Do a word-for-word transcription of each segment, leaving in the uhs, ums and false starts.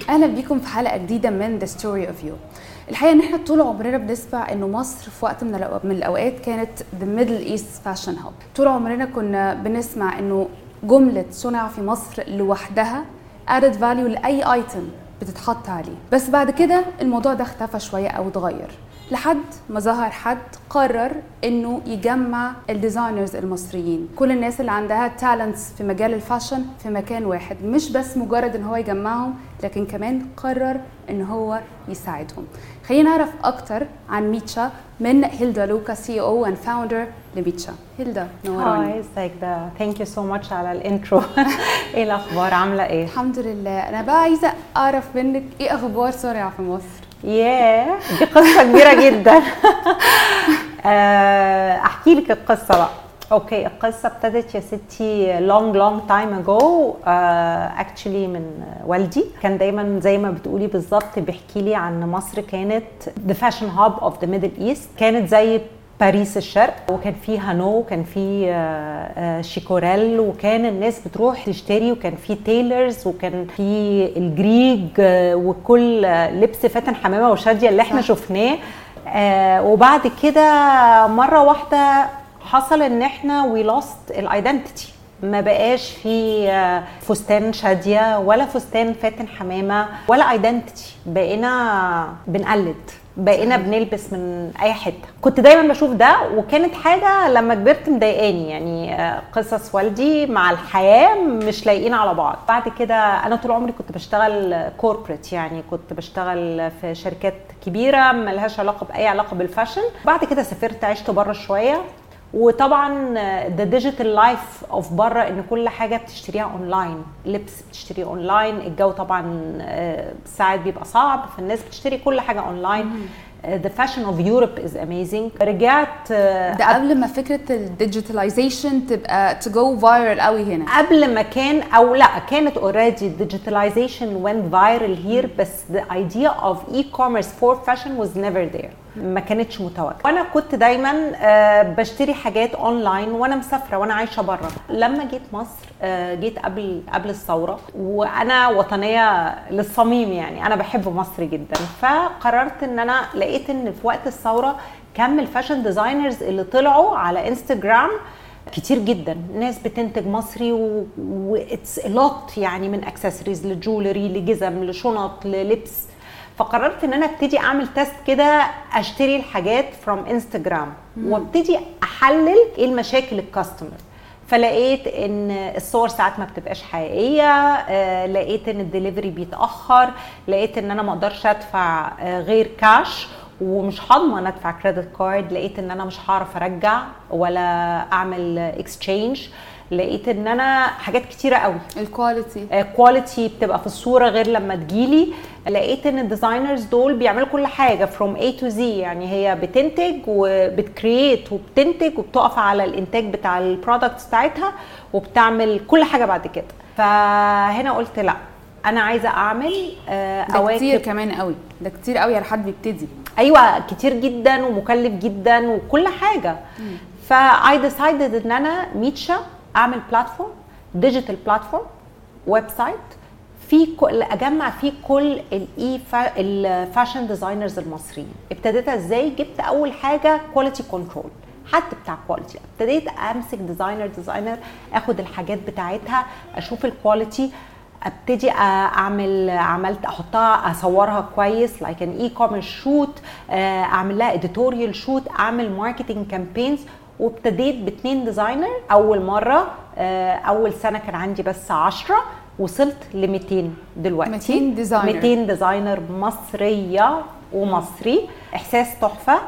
اهلا بيكم في حلقه جديده من The Story of You. الحقيقه ان احنا طول عمرنا بنسمع انه مصر في وقت من من الاوقات كانت The Middle East Fashion Hub. طول عمرنا كنا بنسمع انه جمله صنع في مصر لوحدها added value لاي ايتم بتتحط عليه. بس بعد كده الموضوع ده اختفى شويه او اتغير لحد ما ظهر حد قرر انه يجمع الديزاينرز المصريين، كل الناس اللي عندها تالنتس في مجال الفاشن في مكان واحد، مش بس مجرد ان هو يجمعهم لكن كمان قرر ان هو يساعدهم. خلينا نعرف اكتر عن ميتشا من هيلدا لوكا، سي او اند فاوندر لميتشا. هيلدا نوراني. هاي ازيك؟ ده ثانك يو سو ماتش على الانترو. ايه الاخبار؟ عامله ايه؟ الحمد لله. انا بقى عايزه اعرف منك ايه اخبار صنع في مصر؟ ياه دي قصه كبيره جدا. احكي لك القصه بقى. اوكي، القصه ابتدت يا ستي long long time ago. اكشلي uh, من والدي كان دايما زي ما بتقولي بالظبط بيحكي لي عن مصر كانت the fashion hub of the Middle East، كانت زي باريس الشرق، وكان في هانو وكان في شيكوريل، وكان الناس بتروح تشتري، وكان في تايلرز، وكان في الجريج، وكل لبس فاتن حمامه وشاديه اللي احنا شفناه. وبعد كده مره واحده حصل ان احنا وي لوست الايدنتيتي، ما بقاش في فستان شاديه ولا فستان فاتن حمامه ولا ايدنتيتي، بقينا بنقلد، بقينا بنلبس من اي حته. كنت دايما بشوف ده، وكانت حاجه لما كبرت مضايقاني، يعني قصص والدي مع الحياه مش لايقين على بعض. بعد كده انا طول عمري كنت بشتغل كوربريت، يعني كنت بشتغل في شركات كبيره ملهاش علاقه باي علاقه بالفاشن. بعد كده سافرت عشت بره شويه، وطبعا ده ديجيتال لايف اوف بره، ان كل حاجه بتشتريها اونلاين، لبس بتشتريه اونلاين، الجو طبعا ساعات بيبقى صعب، فالناس بتشتري كل حاجه اونلاين. The fashion of Europe is amazing. رجعت ده قبل ما فكره الديجيتاليزيشن تبقى to go viral قوي هنا، قبل ما كان، او لا كانت already digitalization went viral here، بس the idea of e-commerce for fashion was never there، ما كانتش متواجده. وانا كنت دايما بشتري حاجات اونلاين وانا مسافره وانا عايشه بره. لما جيت مصر جيت قبل قبل الثوره، وانا وطنيه للصميم، يعني انا بحب مصر جدا، فقررت ان انا لقيت ان في وقت الثوره كم الفاشن ديزاينرز اللي طلعوا على انستجرام كتير جدا، ناس بتنتج مصري واتس لوت، يعني من اكسسوارز لجولري لجزم لشنط للبس. فقررت ان انا ابتدي اعمل تيست كده، اشتري الحاجات فروم انستجرام وابتدي احلل ايه المشاكل الكاستمر. فلقيت ان الصور ساعات ما بتبقاش حقيقيه، آه لقيت ان الدليفري بيتاخر، لقيت ان انا ما اقدرش ادفع آه غير كاش، ومش هضمن ادفع كريدت كارد، لقيت ان انا مش هعرف ارجع ولا اعمل اكسشينج، لقيت ان انا حاجات كتيره قوي. الكواليتي كواليتي بتبقى في الصوره غير لما تجيلي. لقيت ان الديزاينرز دول بيعملوا كل حاجه فروم اي تو زي، يعني هي بتنتج وبتكرييت وبتنتج وبتقف على الانتاج بتاع البرودكتس بتاعتها وبتعمل كل حاجه بعد كده. فهنا قلت لا، انا عايزه اعمل اواكب. ده كتير كمان قوي، ده كتير قوي على حد بيبتدي. ايوه كتير جدا ومكلف جدا وكل حاجه. فاي ديسايدد ان انا ميتشا اعمل بلاتفورم، ديجيتال بلاتفورم، ويب سايت، في كل اجمع فيه كل الاي الفاشن ديزاينرز المصريين. ابتديتها ازاي؟ جبت اول حاجه كواليتي كنترول، حد بتاع كواليتي، ابتديت امسك ديزاينر ديزاينر اخد الحاجات بتاعتها، اشوف الكواليتي، ابتدي اعمل عملت احطها اصورها كويس لايك ان اي كوميرس شوت، اعمل لها اديتوريال شوت، اعمل ماركتنج كامبينز. وابتديت باثنين ديزاينر اول مره. اول سنه كان عندي بس عشرة، وصلت ل مئتين دلوقتي. مئتين ديزاينر مئتين ديزاينر مصريه ومصري. احساس تحفه.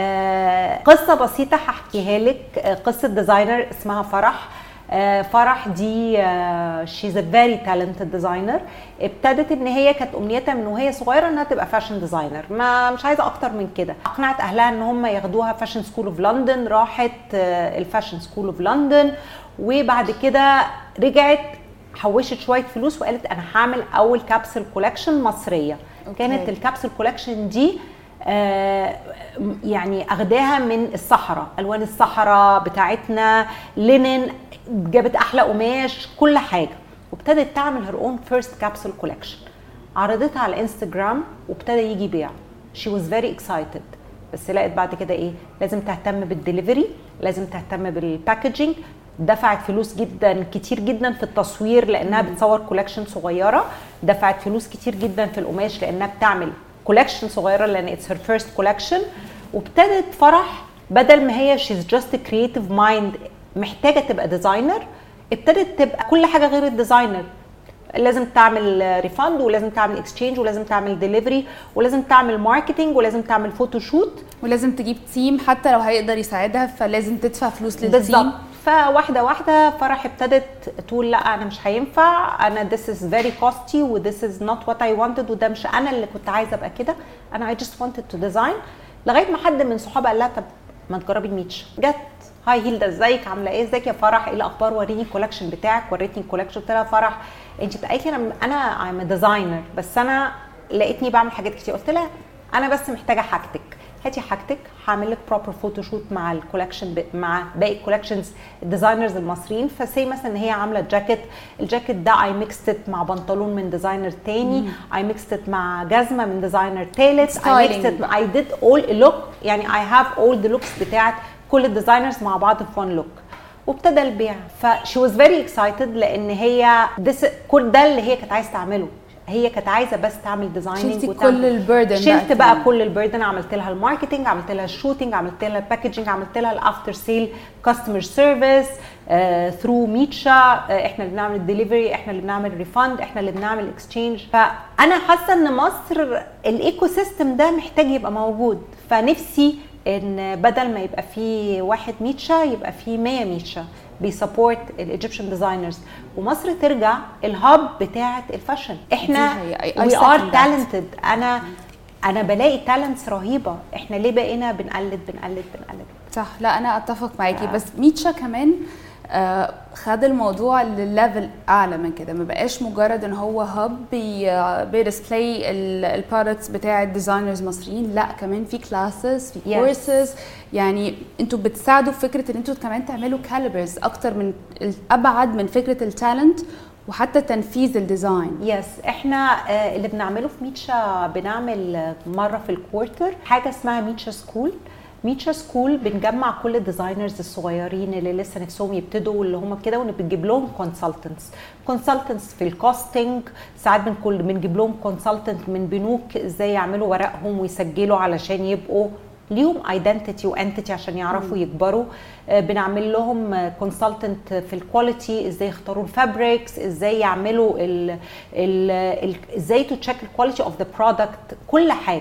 قصه بسيطه هحكيها لك. قصه ديزاينر اسمها فرح. فرح دي شيز ا فيري تالنتد ديزاينر. ابتدت ان هي كانت امنيتها من وهي صغيره انها تبقى فاشن ديزاينر، ما مش عايزه اكتر من كده. اقنعت اهلها ان هم ياخدوها فاشن سكول اوف لندن، راحت الفاشن سكول اوف لندن، وبعد كده رجعت حوشت شويه فلوس وقالت انا هعمل اول كابسول كولكشن مصريه. أوكي. كانت الكابسول كولكشن دي آه يعني اخداها من الصحراء، الوان الصحراء بتاعتنا، لينن، جابت احلى قماش، كل حاجه، وابتدت تعمل هير اون فيرست كابسول كولكشن. عرضتها على انستجرام وابتدى يجي بيع. she was very excited. بس لقيت بعد كده ايه، لازم تهتم بالدليفري، لازم تهتم بالباكجينج. دفعت فلوس جدا كتير جدا في التصوير لانها بتصور كولكشن صغيره، دفعت فلوس كتير جدا في القماش لانها بتعمل كولكشن صغيره لان اتس هير فيرست كولكشن. وابتدت فرح بدل ما هي she's just a creative mind محتاجه تبقى ديزاينر، ابتدت تبقى كل حاجه غير الديزاينر. لازم تعمل ريفاند، ولازم تعمل اكسشينج، ولازم تعمل ديليفري، ولازم تعمل ماركتنج، ولازم تعمل فوتوشوت، ولازم تجيب تيم حتى لو هيقدر يساعدها، فلازم تدفع فلوس للتيم. بالظبط. فواحده واحده فرح ابتدت تقول لا انا مش هينفع، انا this is very costly و this is not what I wanted، وده مش انا اللي كنت عايزه ابقى كده، انا I just wanted to design. لغايه ما حد من صحابها قال لها طب ما تجربي الميتشا. جت هاي هيلدا ازيك عامله ايه، ازيك يا فرح، ايه الاخبار، وريني الكولكشن بتاعك. وريتني الكولكشن. قلت لها فرح انت قالت لي انا انا I'm a designer بس انا لقيتني بعمل حاجات كتير. قلت لها انا بس محتاجه حاجتك، هاتي حاجتك هعمل لك بروبر فوتوشوت مع الكولكشن مع باقي الكولكشنز الديزاينرز المصريين. فسي مثلا ان هي عامله جاكيت، الجاكيت ده اي ميكست مع بنطلون من ديزاينر تاني، اي ميكست مع جزمه من ديزاينر ثالث، اي ميكست اي ديد اول لوك، يعني اي هاف اول ذا لوكس بتاعت كل الديزاينرز مع بعض في وان لوك. وابتدى البيع. فشي واز فيري اكسايتد لان هي كل ده اللي هي كانت عايزه تعمله. هي كانت عايزه بس تعمل ديزايننج شلتي كل البردن. شلت بقى, بقى كل البردن، عملت لها الماركتنج، عملت لها الشوتنج، عملت لها الباكجينج، عملت لها الافتر سيل كاستمر سيرفيس ثرو ميتشا. احنا اللي بنعمل الدليفري، احنا اللي بنعمل ريفاند، احنا اللي بنعمل اكسشينج. فانا حاسه ان مصر الايكو سيستم ده محتاج يبقى موجود. فنفسي ان بدل ما يبقى فيه واحد ميتشا يبقى فيه مية ميتشا بيسبورت الايجيبشن ديزاينرز، ومصر ترجع الهاب بتاعه الفاشن. احنا وي ار تالنتد. انا انا بلاقي تالنتس رهيبه، احنا ليه بقينا بنقلد بنقلد بنقلد؟ صح. لا انا اتفق معاكي. آه. بس ميتشا كمان آه خد الموضوع لليفل اعلى من كده، ما بقاش مجرد ان هو هاب بيديسبلاي البرودكتس بتاع الديزاينرز مصريين، لا كمان في كلاسز، في كورسز. yes. يعني انتوا بتساعدوا في فكره ان انتوا كمان تعملوا كاليبرز اكتر من ابعد من فكره التالنت وحتى تنفيذ الديزاين. يس yes. احنا آه اللي بنعمله في ميتشا بنعمل مره في الكوارتر حاجه اسمها ميتشا سكول. ميتشا سكول بنجمع كل الديزاينرز الصغيرين اللي لسه نفسهم يبتدوا واللي هم كده، ونجيب لهم كونسلتنتس كونسلتنتس في الكوستنج. ساعات بنكل بنجيب لهم كونسلتنت من بنوك ازاي يعملوا ورقهم ويسجلوا علشان يبقوا ليهم ايدنتيتي وانتيتي عشان يعرفوا يكبروا. بنعمل لهم كونسلتنت في الكواليتي، ازاي يختاروا الفابريكس، ازاي يعملوا ال ال ازاي تو تشيك الكواليتي اوف ذا برودكت، كل حاجه.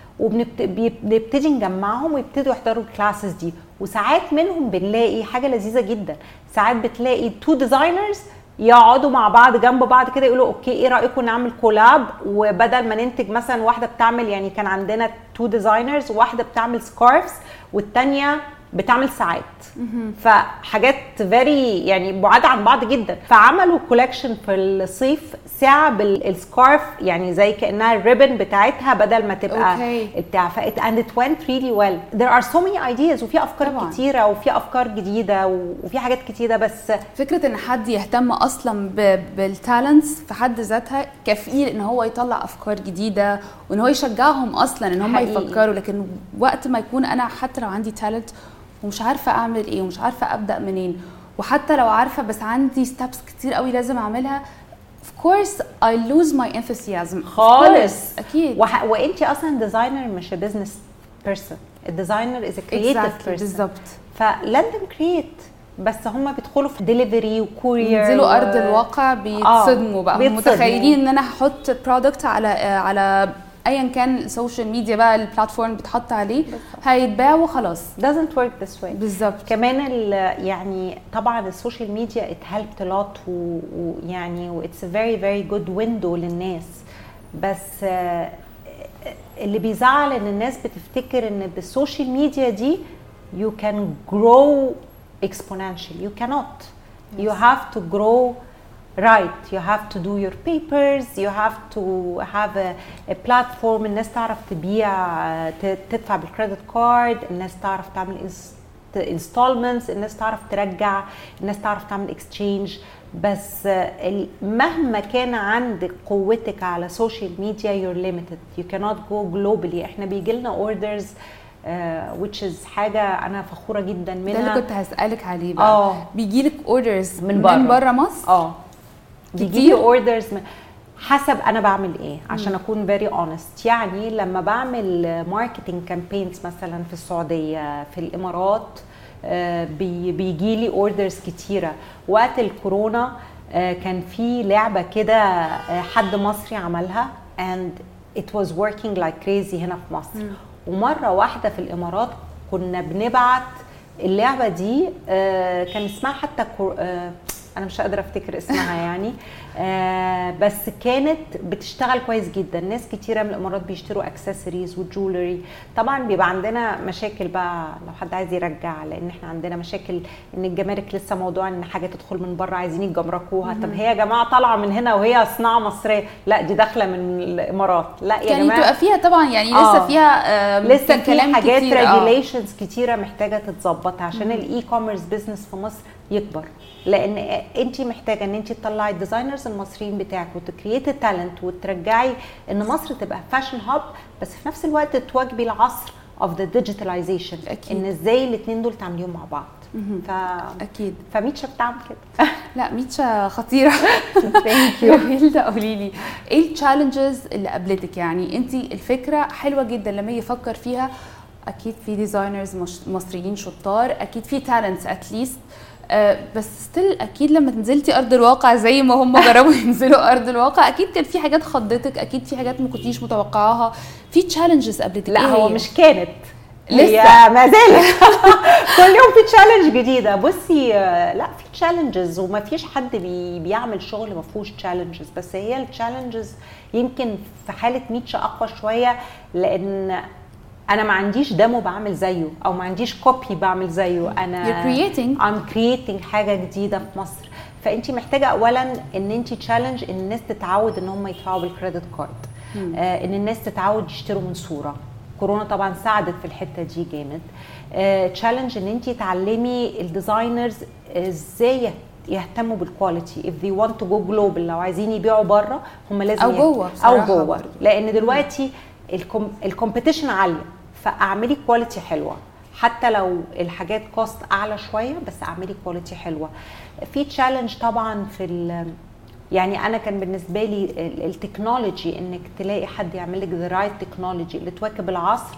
وبنبتدي نجمعهم ويبتدوا يحضروا الكلاسز دي. وساعات منهم بنلاقي حاجه لذيذه جدا، ساعات بتلاقي تو ديزاينرز يقعدوا مع بعض جنب بعض كده يقولوا اوكي ايه رايكم نعمل كولاب، وبدل ما ننتج مثلا واحده بتعمل، يعني كان عندنا تو ديزاينرز، واحده بتعمل سكارفز والثانيه بتعمل ساعات، فحاجات فيري يعني بعاد عن بعض جدا. فعملوا كولكشن في الصيف ساعه بالسكارف، يعني زي كانها الريبن بتاعتها بدل ما تبقى okay. بتاع فات and it went really well. There are so many ideas وفي افكار طبعا. كتيره وفي افكار جديده وفي حاجات كتيره. بس فكره ان حد يهتم اصلا بالتالنتس في حد ذاتها كفيل ان هو يطلع افكار جديده وان هو يشجعهم اصلا ان هم يفكروا. لكن وقت ما يكون انا حتى لو عندي تالنت ومش عارفه اعمل ايه ومش عارفه ابدا منين، وحتى لو عارفه بس عندي ستابس كتير قوي لازم اعملها، of course I lose my enthusiasm خالص. اكيد. وح... وانتي اصلا ديزاينر مش بزنس بيرسون، الديزاينر از ا كرييتيف بيرسون بالظبط. فلازم كرييت، بس هم بيدخلوا في ديليفري وكورير، ينزلوا و... ارض الواقع بيتصدموا. آه. بقى بيتصدموا. متخيلين ان انا هحط برودكت على على ايا كان السوشيال ميديا بقى البلاتفورم بتحط عليه هيتباع وخلاص. doesn't work this way. بالظبط. كمان يعني طبعا السوشيال ميديا it helped a lot ويعني و it's a very very good window للناس، بس اللي بيزعل ان الناس بتفتكر ان بالسوشيال ميديا دي you can grow exponentially. you cannot. yes. you have to grow right. you have to do your papers, you have to have a, a platform الناس تعرف تبيع، تدفع بالكريدت كارد، الناس تعرف تعمل انستولمنتس، الناس تعرف ترجع، الناس تعرف تعمل اكسشينج. بس مهما كان عندك قوتك على سوشيال ميديا you're limited, you cannot go globally. احنا بيجي لنا orders uh, which is حاجه انا فخوره جدا منها. ده اللي كنت هسألك عليه بقى. اه بيجي لك اوردرز من بره من بره مصر؟ اه بيجي لي اوردرز من حسب انا بعمل ايه عشان م. اكون فيري اونست. يعني لما بعمل ماركتنج كامبينز مثلا في السعوديه في الامارات بي بيجي لي اوردرز كتيره. وقت الكورونا كان في لعبه كده حد مصري عملها and it was working like crazy هنا في مصر. م. ومره واحده في الامارات كنا بنبعت اللعبه دي كان اسمها حتى انا مش قادره افتكر اسمها يعني آه بس كانت بتشتغل كويس جدا. ناس كتيره من الامارات بيشتروا اكسسوارز وجولري. طبعا بيبقى عندنا مشاكل بقى لو حد عايز يرجع، لان احنا عندنا مشاكل ان الجمارك لسه موضوع ان حاجه تدخل من بره عايزين يجمركوها. طب هي يا جماعه طالعه من هنا وهي صناعه مصريه، لا دي داخله من الامارات. لا يا يعني جماعه يعني تبقى فيها طبعا يعني لسه آه فيها لسه في حاجات ريجوليشنز آه. كتيره محتاجه تتظبط عشان الاي كوميرس بزنس في مصر يكبر. لان انت محتاجه ان انت تطلعي الديزاينرز المصريين بتاعك وتكريت التالنت وترجعي ان مصر تبقى فاشن هاب، بس في نفس الوقت تواكبي العصر اوف ذا ديجيتاليزيشن. ان ازاي الاثنين دول تعمليهم مع بعض. ف اكيد فميتشا بتعمل كده. لا ميتشا خطيره. ثانك يو. هيلدا قولي لي ايه التشالنجز اللي قابلتك؟ يعني انت الفكره حلوه جدا لما يفكر فيها، اكيد في ديزاينرز مصريين شطار، اكيد في تالنتس اتليست، أه بس ستيل اكيد لما نزلتي ارض الواقع زي ما هم جربوا ينزلوا ارض الواقع اكيد كان في حاجات خضتك، اكيد في حاجات ما كنتيش متوقعاها، في تشالنجز قابلتك. لا إيه هو هي؟ مش كانت لسه ما زالت. كل يوم في تشالنج جديده. بصي لا في تشالنجز وما فيش حد بي بيعمل شغل ما فيهوش تشالنجز، بس هي التشالنجز يمكن في حاله ميتشا اقوى شويه لان انا ما عنديش ديمو بعمل زيه او ما عنديش كوبي بعمل زيه. انا You're creating I'm creating حاجه جديده في مصر. فانت محتاجه اولا ان انت تشالنج ان الناس تتعود ان هم يدفعوا بالكريدت كارد، آه ان الناس تتعود يشتروا من صوره. كورونا طبعا ساعدت في الحته دي جامد. تشالنج آه ان انت تعلمي الديزاينرز ازاي يهتموا بالكواليتي if they want to go global. لو عايزين يبيعوا بره هم لازم او جوه او جوه، لان دلوقتي الكومبيتيشن عاليه. فاعملي كواليتي حلوه حتى لو الحاجات كوست اعلى شويه، بس اعملي كواليتي حلوه. في تشالنج طبعا في يعني انا كان بالنسبه لي التكنولوجي انك تلاقي حد يعمل لك ذا رايت تكنولوجي اللي تواكب العصر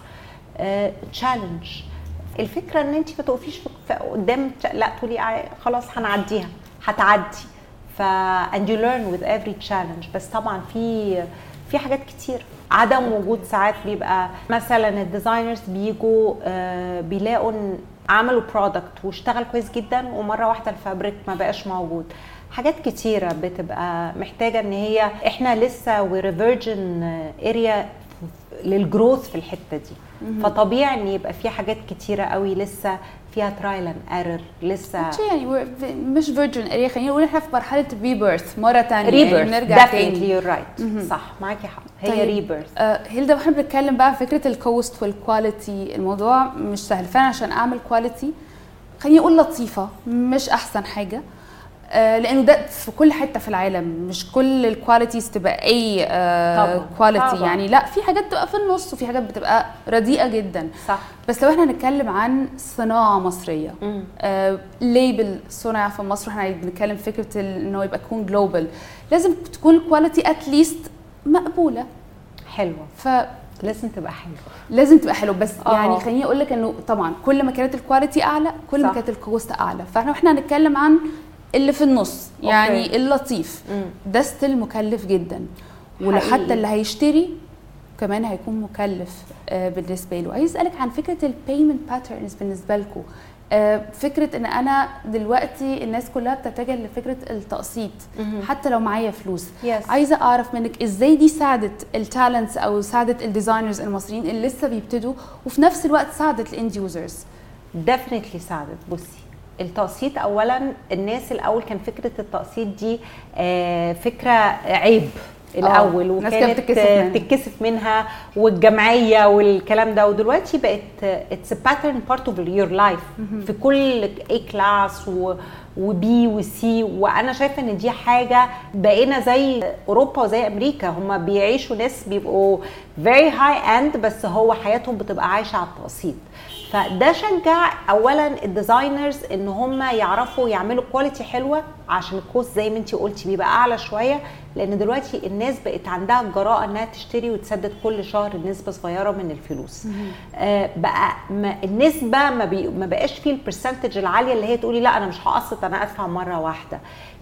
تشالنج. uh, الفكره ان انت ما تقفيش قدام لا تقولي خلاص هنعديها، هتعدي. ف and you learn with every challenge. بس طبعا في في حاجات كتير عدم وجود. ساعات بيبقى مثلا الديزاينرز بيجوا آه بيلاقوا ان عملوا برودكت واشتغل كويس جدا ومره واحده الفابريك ما بقاش موجود. حاجات كتيره بتبقى محتاجه ان هي احنا لسه وريفيرجن اريا للجروث في الحته دي. فطبيعي ان يبقى في حاجات كتيره قوي لسه فيها ترايل اند ايرور لسه. يعني مش فيرجن اريا، خلينا نقول احنا في مرحله ريبيرث مره ثانيه. ريبيرث يعني نرجع تاني. يور رايت صح معاكي حق. هي طيب ريبيرث. آه هيلدا واحنا بنتكلم بقى فكره الكوست والكواليتي، الموضوع مش سهل فعلا. عشان اعمل كواليتي خليني اقول لطيفه مش احسن حاجه، آه لانه ده في كل حته في العالم. مش كل الكواليتيز تبقى اي آه كواليتي يعني، لا في حاجات بتبقى في النص وفي حاجات بتبقى رديئه جدا. صح. بس لو احنا هنتكلم عن صناعه مصريه، آه ليبل صنع في مصر، احنا بنتكلم فكره انه يبقى يكون جلوبال، لازم تكون الكواليتي اتليست مقبوله حلوه. ف لازم تبقى حلوه لازم تبقى حلوه. بس أوه. يعني خليني اقول لك انه طبعا كل ما كانت الكواليتي اعلى كل ما كانت الكوست اعلى. فاحنا احنا هنتكلم عن اللي في النص يعني أوكي. اللطيف مم. ده ستيل مكلف جدا، وحتى اللي هيشتري كمان هيكون مكلف آه بالنسبه له. عايز اسالك عن فكره البيمنت باترنز بالنسبه لكم. آه فكره ان انا دلوقتي الناس كلها بتتجه لفكره التقسيط مم. حتى لو معايا فلوس. yes. عايزه اعرف منك ازاي دي ساعدت التالنتس او ساعدت الديزاينرز المصريين اللي لسه بيبتدوا، وفي نفس الوقت ساعدت الاند يوزرز. ديفينتلي ساعدت. بصي التقسيط اولا الناس الاول كان فكره التقسيط دي آه فكره عيب الاول وكانت بتتكسف منها والجمعيه والكلام ده، ودلوقتي بقت اتس باترن بارت اوف يور لايف في كل اي كلاس وبي وسي. وانا شايفه ان دي حاجه بقينا زي اوروبا وزي امريكا، هم بيعيشوا ناس بيبقوا very high end بس هو حياتهم بتبقى عايشه على التقسيط. فده شجع اولا الديزاينرز ان هم يعرفوا يعملوا كواليتي حلوه عشان الكوست زي ما انتي قلتي بيبقى اعلى شويه، لان دلوقتي الناس بقت عندها الجراءه انها تشتري وتسدد كل شهر نسبه صغيره من الفلوس. آه بقى ما النسبه ما, بي ما بقاش فيه البرسنتج العاليه اللي هي تقولي لا انا مش هقسط انا ادفع مره واحده.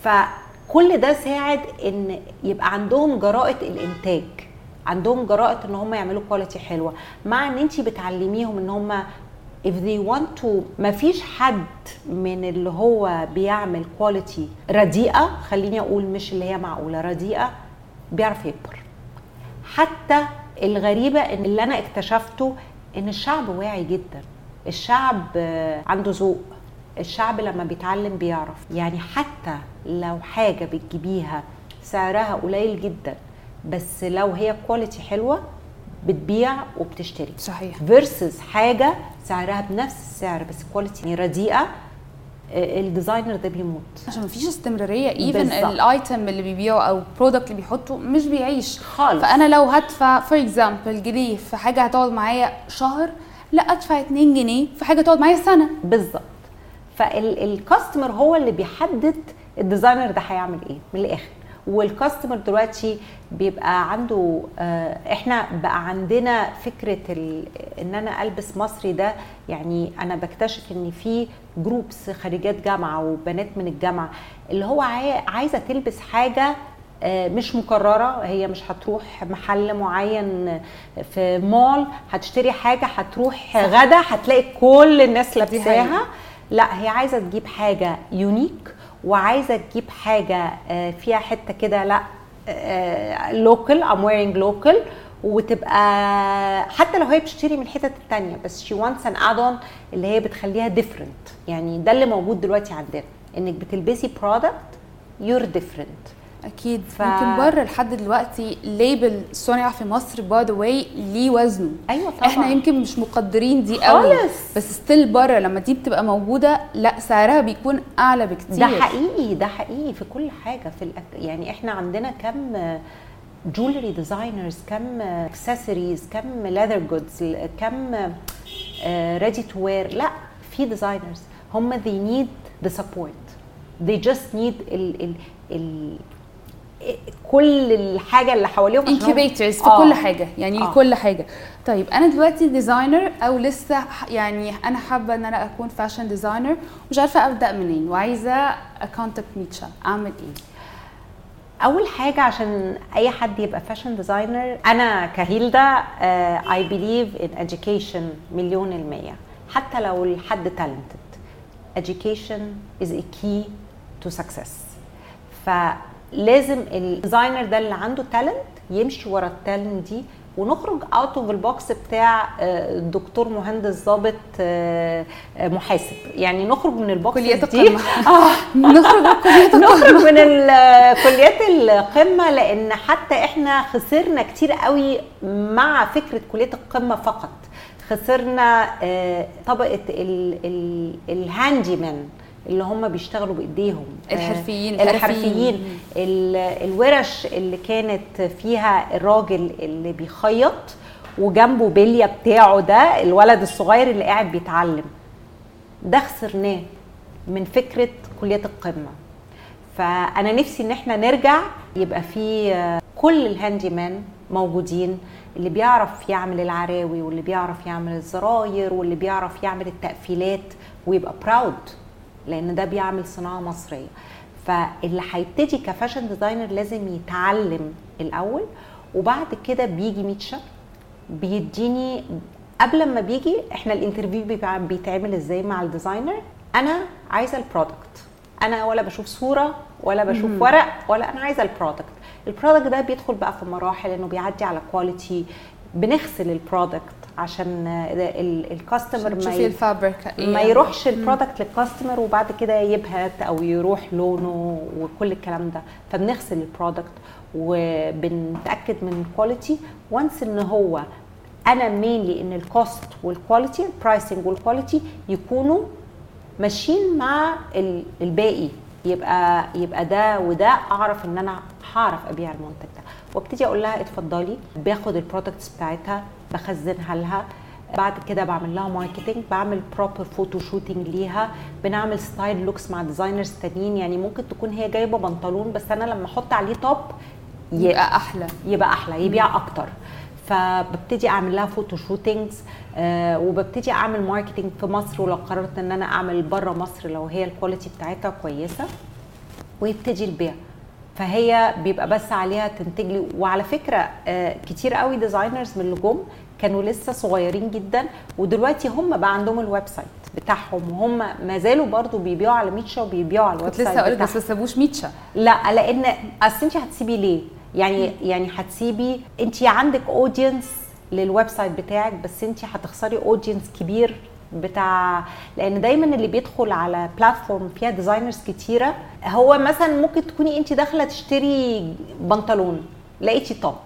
فكل ده ساعد ان يبقى عندهم جراءه الانتاج، عندهم جراءه ان هم يعملوا كواليتي حلوه، مع ان انتي بتعلميهم ان هم if they want to. ما فيش حد من اللي هو بيعمل كواليتي رديئة، خليني أقول مش اللي هي معقولة، رديئة، بيعرف يكبر. حتى الغريبة إن اللي أنا اكتشفته إن الشعب واعي جدا، الشعب عنده ذوق، الشعب لما بيتعلم بيعرف. يعني حتى لو حاجة بتجيبيها سعرها قليل جدا بس لو هي كواليتي حلوة بتبيع وبتشتري. صحيح. فيرسز حاجه سعرها بنفس السعر بس كواليتي رديئه، الديزاينر ده بيموت عشان مفيش استمراريه. ايفن الايتم اللي بيبيعه او البرودكت اللي بيحطه مش بيعيش خالص. فانا لو هدفع فور اكزامبل جنيه في حاجه هتقعد معايا شهر، لا ادفع اتنين جنيه في حاجه تقعد معايا سنه بالظبط. فالكاستمر هو اللي بيحدد الديزاينر ده هيعمل ايه من الاخر. والكاستمر دلوقتي بيبقى عنده آه احنا بقى عندنا فكره ان انا البس مصري ده. يعني انا بكتشف ان في جروبس خريجات جامعه وبنات من الجامعه اللي هو عايزه تلبس حاجه آه مش مكرره، هي مش هتروح محل معين في مول هتشتري حاجه، هتروح غدا هتلاقي كل الناس لابساها. لا هي عايزه تجيب حاجه يونيك وعايزه تجيب حاجه فيها حته كده لا لوكال ام ويرينج لوكال، وتبقى حتى لو هي بتشتري من الحتت الثانيه بس شي وانتس ان اد اون اللي هي بتخليها ديفرنت. يعني ده اللي موجود دلوقتي عندنا، انك بتلبسي برودكت يور ديفرنت. اكيد ف... ممكن بره لحد دلوقتي ليبل صنع في مصر باي ذا واي ليه وزنه. ايوه طبعا. احنا يمكن مش مقدرين دي قوي بس ستيل بره لما دي بتبقى موجوده لا سعرها بيكون اعلى بكتير. ده حقيقي، ده حقيقي في كل حاجه في الأك... يعني احنا عندنا كم جولري ديزاينرز، كم اكسسوارز، كم ليذر جودز، كم ريدي تو وير. لا في ديزاينرز هم they need the support, they just need ال ال ال كل الحاجه اللي حواليهم انكيبيتورز في آه. كل حاجه يعني آه. كل حاجه. طيب انا دلوقتي ديزاينر او لسه يعني انا حابه ان انا اكون فاشن ديزاينر مش عارفه ابدا منين وعايزه اكونتاكت ميتشا، اعمل ايه؟ اول حاجه عشان اي حد يبقى فاشن ديزاينر، انا كهيلدا اي بليف ان education مليون المية. حتى لو الحد talented education is a key to success. ف لازم الديزاينر ده اللي عنده تالنت يمشي ورا التالنت دي، ونخرج اوت اوف البوكس بتاع دكتور مهندس ضابط محاسب. يعني نخرج من البوكس دي القمة. اه نخرج كليات نخرج من كليات القمه، لان حتى احنا خسرنا كتير قوي مع فكره كليه القمه فقط. خسرنا طبقه الهاندي مان اللي هم بيشتغلوا بايديهم، الحرفيين الحرفيين الورش اللي كانت فيها الراجل اللي بيخيط وجنبه بليه بتاعه ده الولد الصغير اللي قاعد بيتعلم. ده خسرناه من فكره كليه القمه. فانا نفسي ان احنا نرجع يبقى في كل الهاندي مان موجودين، اللي بيعرف يعمل العراوي واللي بيعرف يعمل الزراير واللي بيعرف يعمل التقفيلات ويبقى براود، لان ده بيعمل صناعه مصريه. فاللي هيبتدي كفاشن ديزاينر لازم يتعلم الاول، وبعد كده بيجي ميتشا بيديني. قبل ما بيجي احنا الانترفيو بيتعمل ازاي مع الديزاينر؟ انا عايزه البرودكت، انا ولا بشوف صوره ولا بشوف مم. ورق، ولا انا عايزه البرودكت. البرودكت ده بيدخل بقى في مراحل، انه بيعدي على كواليتي، بنغسل البرودكت عشان الكاستمر ما, ما يروحش البرودكت للكاستمر وبعد كده يبهت او يروح لونه وكل الكلام ده. فبنغسل البرودكت وبنتاكد من الكواليتي وانس ان هو انا مينلي ان الكوست والكواليتي البرايسنج والكواليتي يكونوا ماشيين مع الباقي، يبقى يبقى ده وده اعرف ان انا هعرف ابيع المنتج ده. وابتدي اقول لها اتفضلي، باخد البرودكتس بتاعتها بخزنها لها، بعد كده بعمل لها ماركتنج، بعمل بروبر فوتو شوتنج ليها، بنعمل ستايل لوكس مع ديزاينرز تانيين. يعني ممكن تكون هي جايبه بنطلون بس انا لما احط عليه توب يبقى احلى يبقى احلى يبيع اكتر. فببتدي اعمل لها فوتو شوتينجز آه وببتدي اعمل ماركتنج في مصر، ولو قررت ان انا اعمل بره مصر لو هي الكواليتي بتاعتها كويسه، ويبتدي البيع. فهي بيبقى بس عليها تنتج لي. وعلى فكره آه كتير قوي ديزاينرز من اللي جم كانوا لسه صغيرين جدا، ودلوقتي هم بقى عندهم الويب سايت بتاعهم، وهم ما زالوا برضو بيبيعوا على ميتشا وبيبيعوا على الويب سايت. لسه اقول بس ما سابوش ميتشا. لا لان اصل انت هتسيبي ليه؟ يعني يعني هتسيبي، انت عندك اودينس للويب سايت بتاعك بس انت هتخسري اودينس كبير بتاع، لان دايما اللي بيدخل على بلاتفورم فيها ديزاينرز كتيره، هو مثلا ممكن تكوني انت داخله تشتري بنطلون لقيتي توب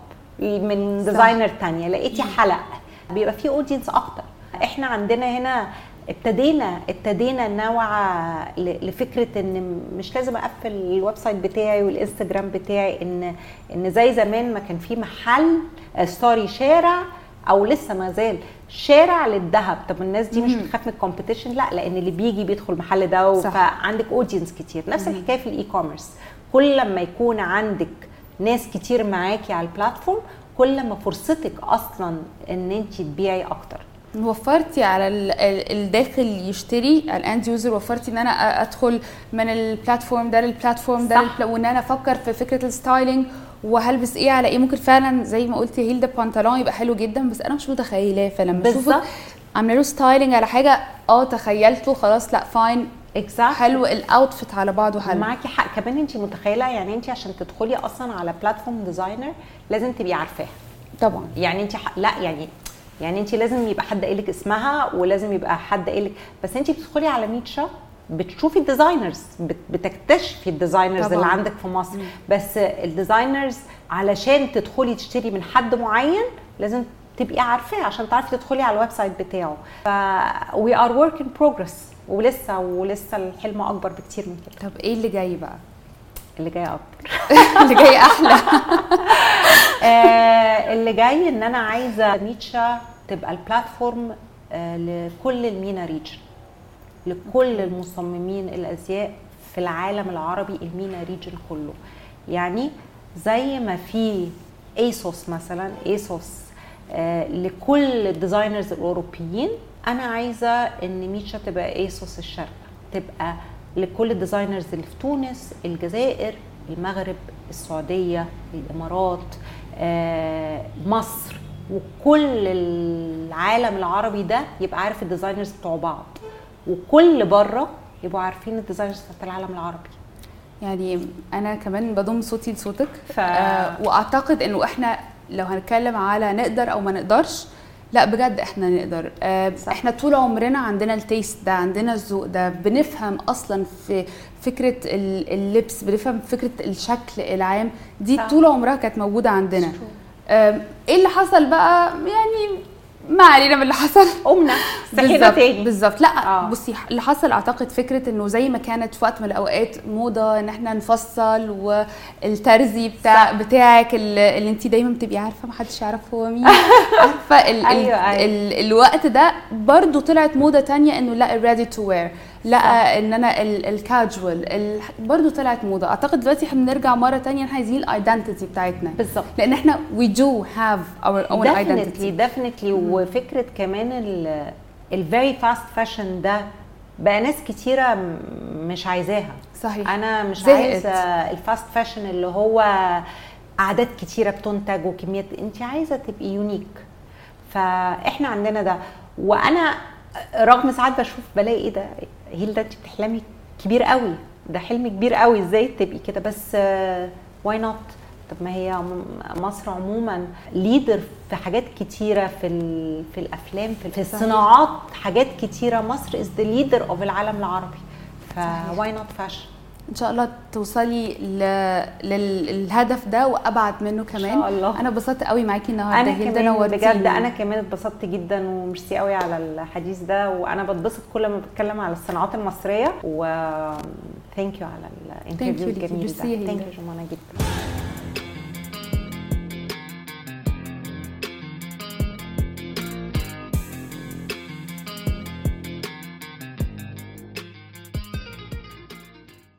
من ديزاينر تانية، لقيتي حلق، بيبقى فيه اودينس اكتر. احنا عندنا هنا ابتدينا ابتدينا نوع لفكره ان مش لازم اقفل الويب سايت بتاعي والانستجرام بتاعي، ان ان زي زمان ما كان في محل سوري شارع او لسه ما زال شارع للذهب. طب الناس دي مش بتخاف من الكومبيتيشن؟ لا، لان اللي بيجي بيدخل المحل ده، فعندك اودينس كتير. نفس الحكايه في الاي كوميرس، كل لما يكون عندك ناس كتير معاكي على البلاتفورم كل ما فرصتك اصلا ان انت تبيعي اكتر. وفرتي على الداخل يشتري الاند يوزر، وفرتي ان انا ادخل من البلاتفورم ده للبلاتفورم ده، وان انا افكر في فكره الستايلينج وهلبس ايه على ايه. ممكن فعلا زي ما قلتي هيل ده بنطلون يبقى حلو جدا بس انا مش متخيلاه، فلما اشوفك عامله له ستايلينج على حاجه اه تخيلته خلاص لا فاين exactly. حلو الاوتفيت على بعضه حلو. معاكي حق كمان. انت متخيله يعني انت عشان تدخلي اصلا على بلاتفورم ديزاينر لازم تبقي عارفاها طبعا. يعني انت لا يعني يعني انت لازم يبقى حد قايل لك اسمها، ولازم يبقى حد قايل لك، بس انت بتدخلي على ميتشا بتشوفي الديزاينرز، بتكتشفي الديزاينرز اللي عندك في مصر. مم. بس الديزاينرز علشان تدخلي تشتري من حد معين لازم تبقي عارفاه عشان تعرفي تدخلي على الويب سايت بتاعه. ف we are work in progress، ولسه ولسه الحلم اكبر بكتير من كده. طب ايه اللي جاي بقى؟ اللي جاي اكتر اللي جاي احلى. آه اللي جاي ان انا عايزه ميتشا تبقى البلاتفورم آه لكل المينا ريجن، لكل المصممين الازياء في العالم العربي، المينا ريجن كله. يعني زي ما في ايسوس مثلا، ايسوس آه لكل الديزاينرز الاوروبيين، انا عايزه ان ميتشا تبقى ايسوس الشرق، تبقى لكل الديزاينرز اللي في تونس، الجزائر، المغرب، السعوديه، الامارات، آه مصر، وكل العالم العربي ده يبقى عارف الديزاينرز بتوع بعض، وكل بره يبقوا عارفين الديزاينرز بتاع العالم العربي. يعني انا كمان بضم صوتي لصوتك. ف... آه واعتقد انه احنا لو هنتكلم على نقدر او ما نقدرش، لا بجد احنا نقدر. آه احنا طول عمرنا عندنا التيست ده، عندنا الذوق ده، بنفهم اصلا في فكره اللبس، بنفهم فكره الشكل العام دي. صح. طول عمرها كانت موجوده عندنا. آه ايه اللي حصل بقى؟ يعني ما علينا من اللي حصل، قمنا صحينا تاني. بالظبط. لا آه. بصي اللي حصل اعتقد فكره انه زي ما كانت في وقت من الاوقات موضه ان احنا نفصل، والترزي بتاع صح. بتاعك اللي, اللي انت دايما بتبقي عارفه ما حدش يعرف هو مين. عارفه ال أيوة ال أيوة. ال الوقت ده برضو طلعت موضه تانية انه لا الريدي تو وير، لا ان انا الكاجوال برضو طلعت موضه. اعتقد دلوقتي احنا بنرجع مره تانية احنا عايزين الايدنتيتي بتاعتنا بالظبط، لان احنا we do have our own identity definitely. وفكره كمان ال very fast fashion ده بقى ناس كتيره مش عايزاها. صحيح. انا مش عايزه الفاست فاشن اللي هو اعداد كتيره بتنتج وكميات، انت عايزه تبقي يونيك. فاحنا عندنا ده. وانا رغم ساعات بشوف بلاقي ايه ده هيل ده انت بتحلمي كبير قوي، ده حلم كبير قوي، ازاي تبقي كده؟ بس واي نوت؟ طب ما هي مصر عموما ليدر في حاجات كتيره، في في الافلام، في الصناعات، حاجات كتيره. مصر از ذا ليدر اوف العالم العربي، فواي نوت فاشن. ان شاء الله توصلي للهدف ده وابعد منه كمان. ان شاء الله. انا اتبسطت قوي معاكي النهارده، انا كمان بجد انا كمان اتبسطت جدا، وميرسي قوي على الحديث ده، وانا بتبسط كل ما بتكلم على الصناعات المصريه. و ثانك يو على الانترفيو الجميل ده. ثانك يو جمانه جدا.